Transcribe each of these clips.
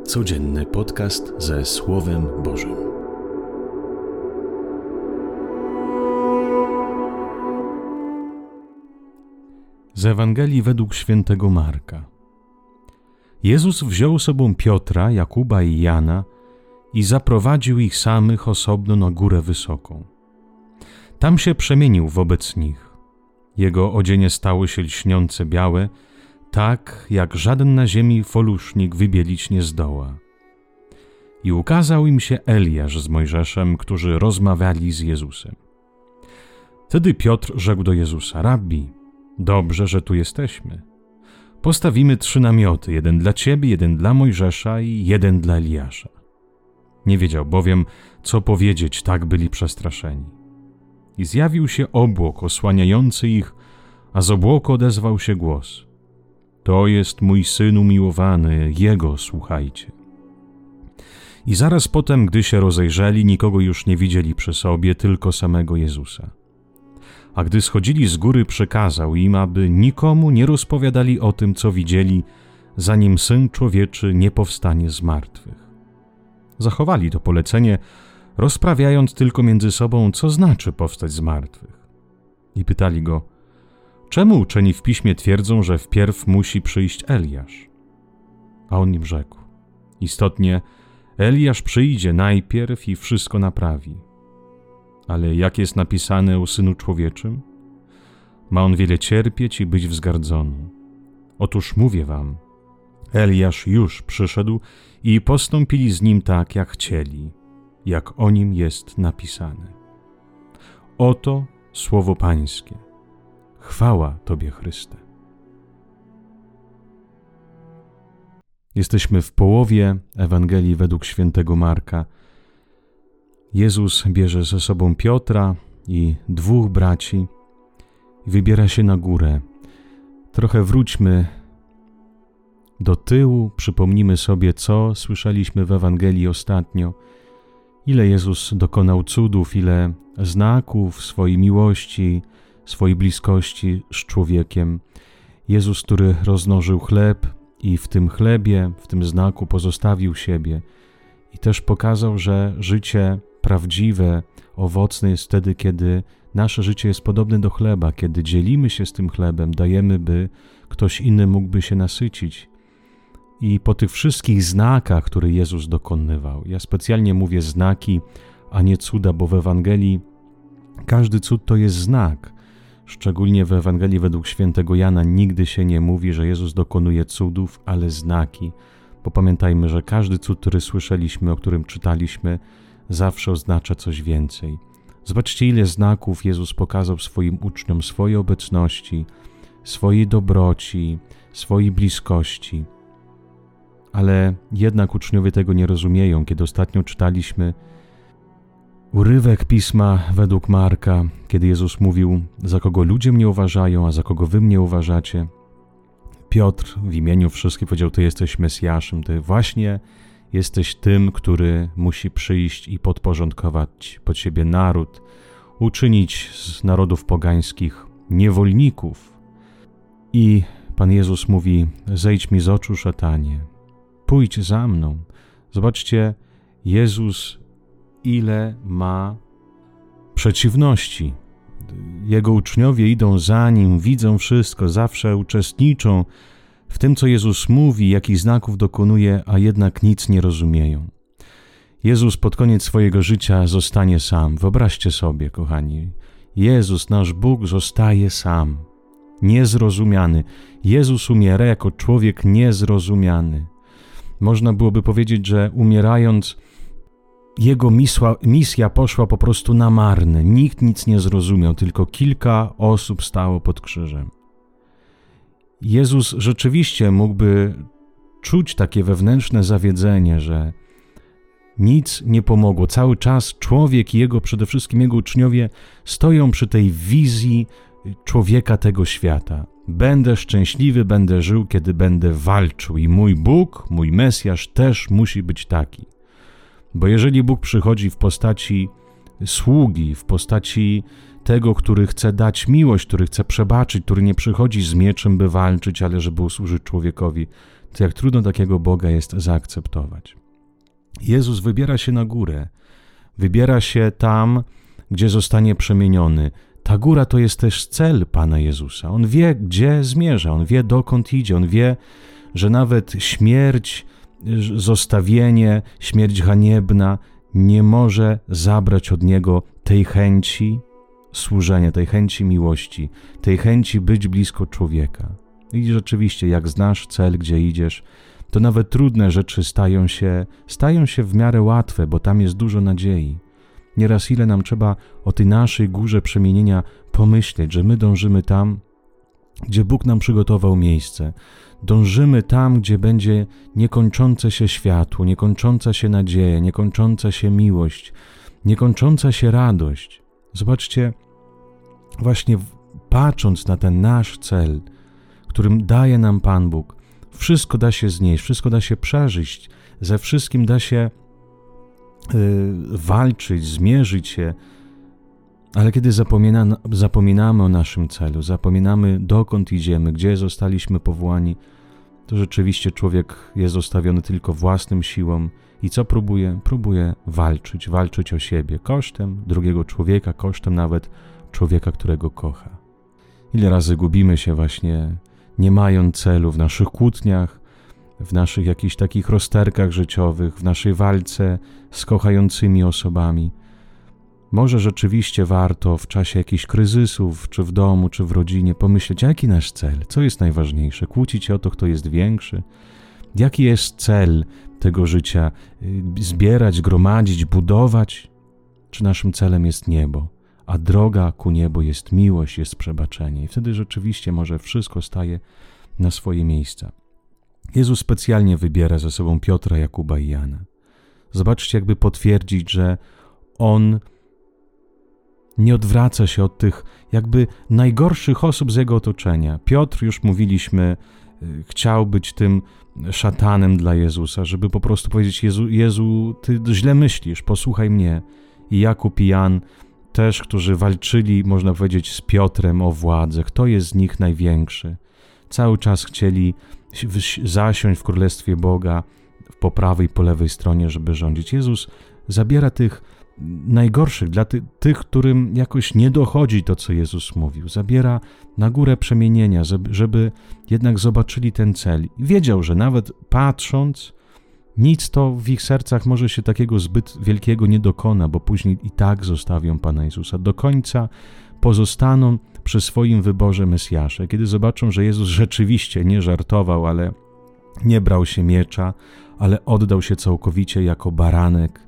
Codzienny podcast ze Słowem Bożym. Z Ewangelii według świętego Marka. Jezus wziął sobą Piotra, Jakuba i Jana i zaprowadził ich samych osobno na górę wysoką. Tam się przemienił wobec nich. Jego odzienie stało się lśniące białe, tak jak żaden na ziemi folusznik wybielić nie zdoła. I ukazał im się Eliasz z Mojżeszem, którzy rozmawiali z Jezusem. Wtedy Piotr rzekł do Jezusa: Rabbi, dobrze, że tu jesteśmy. Postawimy 3 namioty, jeden dla Ciebie, jeden dla Mojżesza i jeden dla Eliasza. Nie wiedział bowiem, co powiedzieć, tak byli przestraszeni. I zjawił się obłok osłaniający ich, a z obłoku odezwał się głos: To jest mój Syn umiłowany, Jego słuchajcie. I zaraz potem, gdy się rozejrzeli, nikogo już nie widzieli przy sobie, tylko samego Jezusa. A gdy schodzili z góry, przekazał im, aby nikomu nie rozpowiadali o tym, co widzieli, zanim Syn Człowieczy nie powstanie z martwych. Zachowali to polecenie, rozprawiając tylko między sobą, co znaczy powstać z martwych. I pytali go: czemu uczeni w Piśmie twierdzą, że wpierw musi przyjść Eliasz? A on im rzekł: istotnie, Eliasz przyjdzie najpierw i wszystko naprawi. Ale jak jest napisane o Synu Człowieczym? Ma on wiele cierpieć i być wzgardzonym. Otóż mówię wam, Eliasz już przyszedł i postąpili z nim tak, jak chcieli, jak o nim jest napisane. Oto słowo Pańskie. Chwała Tobie, Chryste. Jesteśmy w połowie Ewangelii według świętego Marka. Jezus bierze ze sobą Piotra i 2 braci i wybiera się na górę. Trochę wróćmy do tyłu, przypomnimy sobie, co słyszeliśmy w Ewangelii ostatnio. Ile Jezus dokonał cudów, ile znaków swojej miłości, swojej bliskości z człowiekiem. Jezus, który rozmnożył chleb i w tym chlebie, w tym znaku pozostawił siebie i też pokazał, że życie prawdziwe, owocne jest wtedy, kiedy nasze życie jest podobne do chleba, kiedy dzielimy się z tym chlebem, dajemy, by ktoś inny mógłby się nasycić. I po tych wszystkich znakach, które Jezus dokonywał, ja specjalnie mówię znaki, a nie cuda, bo w Ewangelii każdy cud to jest znak. Szczególnie w Ewangelii według świętego Jana nigdy się nie mówi, że Jezus dokonuje cudów, ale znaki. Bo pamiętajmy, że każdy cud, który słyszeliśmy, o którym czytaliśmy, zawsze oznacza coś więcej. Zobaczcie, ile znaków Jezus pokazał swoim uczniom, swojej obecności, swojej dobroci, swojej bliskości. Ale jednak uczniowie tego nie rozumieją. Kiedy ostatnio czytaliśmy urywek Pisma według Marka, kiedy Jezus mówił: za kogo ludzie mnie uważają, a za kogo wy mnie uważacie. Piotr w imieniu wszystkich powiedział: Ty jesteś Mesjaszem, Ty właśnie jesteś tym, który musi przyjść i podporządkować pod siebie naród, uczynić z narodów pogańskich niewolników. I Pan Jezus mówi: zejdź mi z oczu, szatanie, pójdź za mną. Zobaczcie, Jezus ile ma przeciwności. Jego uczniowie idą za Nim, widzą wszystko, zawsze uczestniczą w tym, co Jezus mówi, jakich znaków dokonuje, a jednak nic nie rozumieją. Jezus pod koniec swojego życia zostanie sam. Wyobraźcie sobie, kochani, Jezus, nasz Bóg, zostaje sam, niezrozumiany. Jezus umiera jako człowiek niezrozumiany. Można byłoby powiedzieć, że umierając, Jego misja poszła po prostu na marne. Nikt nic nie zrozumiał, tylko kilka osób stało pod krzyżem. Jezus rzeczywiście mógłby czuć takie wewnętrzne zawiedzenie, że nic nie pomogło. Cały czas człowiek i przede wszystkim jego uczniowie stoją przy tej wizji człowieka tego świata. Będę szczęśliwy, będę żył, kiedy będę walczył i mój Bóg, mój Mesjasz też musi być taki. Bo jeżeli Bóg przychodzi w postaci sługi, w postaci tego, który chce dać miłość, który chce przebaczyć, który nie przychodzi z mieczem, by walczyć, ale żeby usłużyć człowiekowi, to jak trudno takiego Boga jest zaakceptować. Jezus wybiera się na górę, wybiera się tam, gdzie zostanie przemieniony. Ta góra to jest też cel Pana Jezusa. On wie, gdzie zmierza, On wie, dokąd idzie, On wie, że nawet śmierć, zostawienie, śmierć haniebna nie może zabrać od Niego tej chęci służenia, tej chęci miłości, tej chęci być blisko człowieka. I rzeczywiście, jak znasz cel, gdzie idziesz, to nawet trudne rzeczy stają się w miarę łatwe, bo tam jest dużo nadziei. Nieraz ile nam trzeba o tej naszej górze przemienienia pomyśleć, że my dążymy tam, gdzie Bóg nam przygotował miejsce. Dążymy tam, gdzie będzie niekończące się światło, niekończąca się nadzieja, niekończąca się miłość, niekończąca się radość. Zobaczcie, właśnie patrząc na ten nasz cel, którym daje nam Pan Bóg, wszystko da się znieść, wszystko da się przeżyć, ze wszystkim da się walczyć, zmierzyć się, ale kiedy zapominamy o naszym celu, zapominamy, dokąd idziemy, gdzie zostaliśmy powołani, to rzeczywiście człowiek jest zostawiony tylko własnym siłom i co próbuje? Próbuje walczyć o siebie, kosztem drugiego człowieka, kosztem nawet człowieka, którego kocha. Ile razy gubimy się właśnie, nie mając celu w naszych kłótniach, w naszych jakichś takich rozterkach życiowych, w naszej walce z kochającymi osobami. Może rzeczywiście warto w czasie jakichś kryzysów, czy w domu, czy w rodzinie pomyśleć, jaki nasz cel, co jest najważniejsze, kłócić się o to, kto jest większy, jaki jest cel tego życia, zbierać, gromadzić, budować, czy naszym celem jest niebo, a droga ku niebu jest miłość, jest przebaczenie i wtedy rzeczywiście może wszystko staje na swoje miejsca. Jezus specjalnie wybiera ze sobą Piotra, Jakuba i Jana. Zobaczcie, jakby potwierdzić, że On nie odwraca się od tych jakby najgorszych osób z Jego otoczenia. Piotr, już mówiliśmy, chciał być tym szatanem dla Jezusa, żeby po prostu powiedzieć: Jezu, Ty źle myślisz, posłuchaj mnie. I Jakub i Jan też, którzy walczyli, można powiedzieć, z Piotrem o władzę. Kto jest z nich największy? Cały czas chcieli zasiąść w Królestwie Boga po prawej i po lewej stronie, żeby rządzić. Jezus zabiera tych najgorszych, dla tych, którym jakoś nie dochodzi to, co Jezus mówił. Zabiera na górę przemienienia, żeby jednak zobaczyli ten cel. I wiedział, że nawet patrząc, nic to w ich sercach może się takiego zbyt wielkiego nie dokona, bo później i tak zostawią Pana Jezusa. Do końca pozostaną przy swoim wyborze Mesjasza. Kiedy zobaczą, że Jezus rzeczywiście nie żartował, ale nie brał się miecza, ale oddał się całkowicie jako baranek,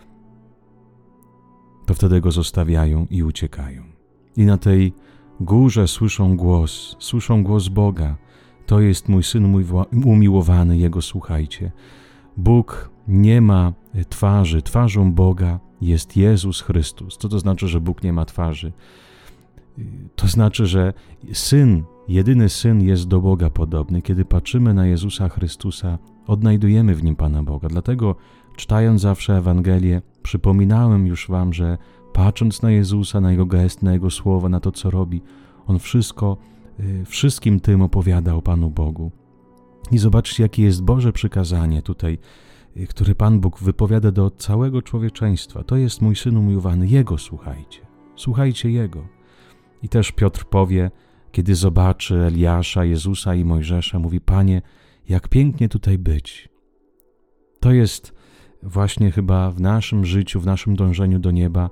to wtedy Go zostawiają i uciekają. I na tej górze słyszą głos Boga. To jest mój Syn, mój umiłowany, Jego słuchajcie. Bóg nie ma twarzy. Twarzą Boga jest Jezus Chrystus. Co to znaczy, że Bóg nie ma twarzy? To znaczy, że Syn, jedyny Syn jest do Boga podobny. Kiedy patrzymy na Jezusa Chrystusa, odnajdujemy w Nim Pana Boga. Dlatego, czytając zawsze Ewangelię, przypominałem już wam, że patrząc na Jezusa, na Jego gest, na Jego słowa, na to, co robi, On wszystkim tym opowiada o Panu Bogu. I zobaczcie, jakie jest Boże przykazanie tutaj, które Pan Bóg wypowiada do całego człowieczeństwa. To jest mój Syn umiłowany, Jego słuchajcie. Słuchajcie Jego. I też Piotr powie, kiedy zobaczy Eliasza, Jezusa i Mojżesza, mówi: Panie, jak pięknie tutaj być. To jest właśnie chyba w naszym życiu, w naszym dążeniu do nieba.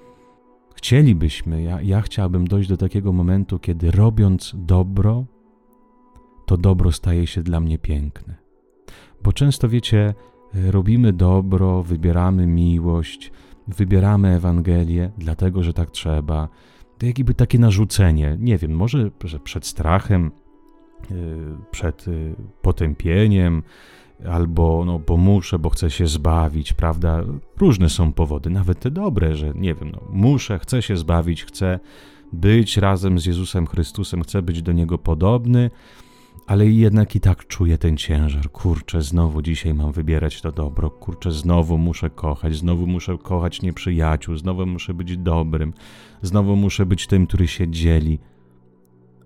Ja chciałbym dojść do takiego momentu, kiedy robiąc dobro, to dobro staje się dla mnie piękne. Bo często, wiecie, robimy dobro, wybieramy miłość, wybieramy Ewangelię, dlatego, że tak trzeba. To jakby takie narzucenie, nie wiem, może przed strachem, przed potępieniem, albo bo muszę, bo chcę się zbawić, prawda? Różne są powody, nawet te dobre, że nie wiem, chcę się zbawić, chcę być razem z Jezusem Chrystusem, chcę być do Niego podobny, ale jednak i tak czuję ten ciężar. Kurczę, znowu dzisiaj mam wybierać to dobro, kurczę, znowu muszę kochać nieprzyjaciół, znowu muszę być dobrym, znowu muszę być tym, który się dzieli.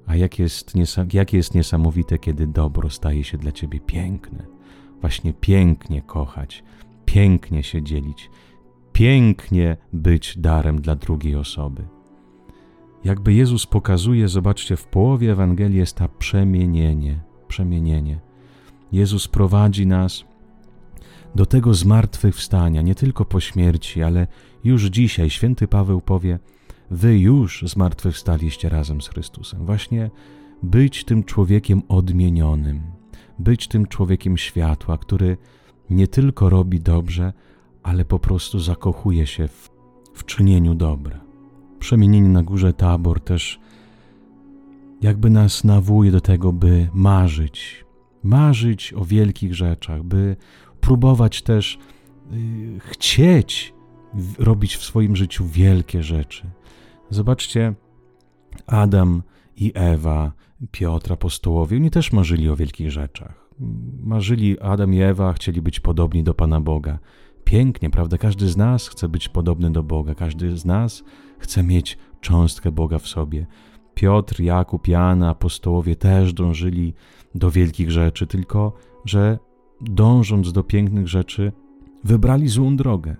A jakie jest niesamowite, kiedy dobro staje się dla ciebie piękne. Właśnie pięknie kochać, pięknie się dzielić, pięknie być darem dla drugiej osoby. Jakby Jezus pokazuje, zobaczcie, w połowie Ewangelii jest to przemienienie. Jezus prowadzi nas do tego zmartwychwstania, nie tylko po śmierci, ale już dzisiaj. Święty Paweł powie, wy już zmartwychwstaliście razem z Chrystusem. Właśnie być tym człowiekiem odmienionym, być tym człowiekiem światła, który nie tylko robi dobrze, ale po prostu zakochuje się w czynieniu dobra. Przemienienie na górze Tabor też jakby nas nawołuje do tego, by marzyć o wielkich rzeczach, by próbować też chcieć robić w swoim życiu wielkie rzeczy. Zobaczcie, Adam i Ewa, Piotr, apostołowie, oni też marzyli o wielkich rzeczach. Adam i Ewa chcieli być podobni do Pana Boga. Pięknie, prawda? Każdy z nas chce być podobny do Boga. Każdy z nas chce mieć cząstkę Boga w sobie. Piotr, Jakub, Jan, apostołowie też dążyli do wielkich rzeczy, tylko że dążąc do pięknych rzeczy, wybrali złą drogę.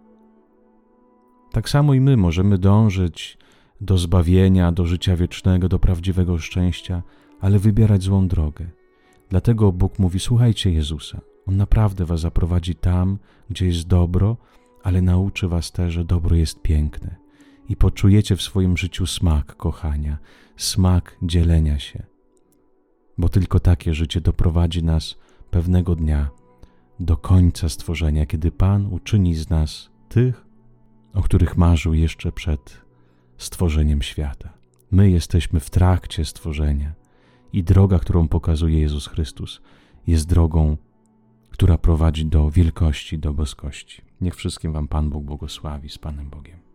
Tak samo i my możemy dążyć do zbawienia, do życia wiecznego, do prawdziwego szczęścia, ale wybierać złą drogę. Dlatego Bóg mówi, słuchajcie Jezusa. On naprawdę was zaprowadzi tam, gdzie jest dobro, ale nauczy was też, że dobro jest piękne. I poczujecie w swoim życiu smak kochania, smak dzielenia się. Bo tylko takie życie doprowadzi nas pewnego dnia do końca stworzenia, kiedy Pan uczyni z nas tych, o których marzył jeszcze przed stworzeniem świata. My jesteśmy w trakcie stworzenia i droga, którą pokazuje Jezus Chrystus, jest drogą, która prowadzi do wielkości, do boskości. Niech wszystkim wam Pan Bóg błogosławi. Z Panem Bogiem.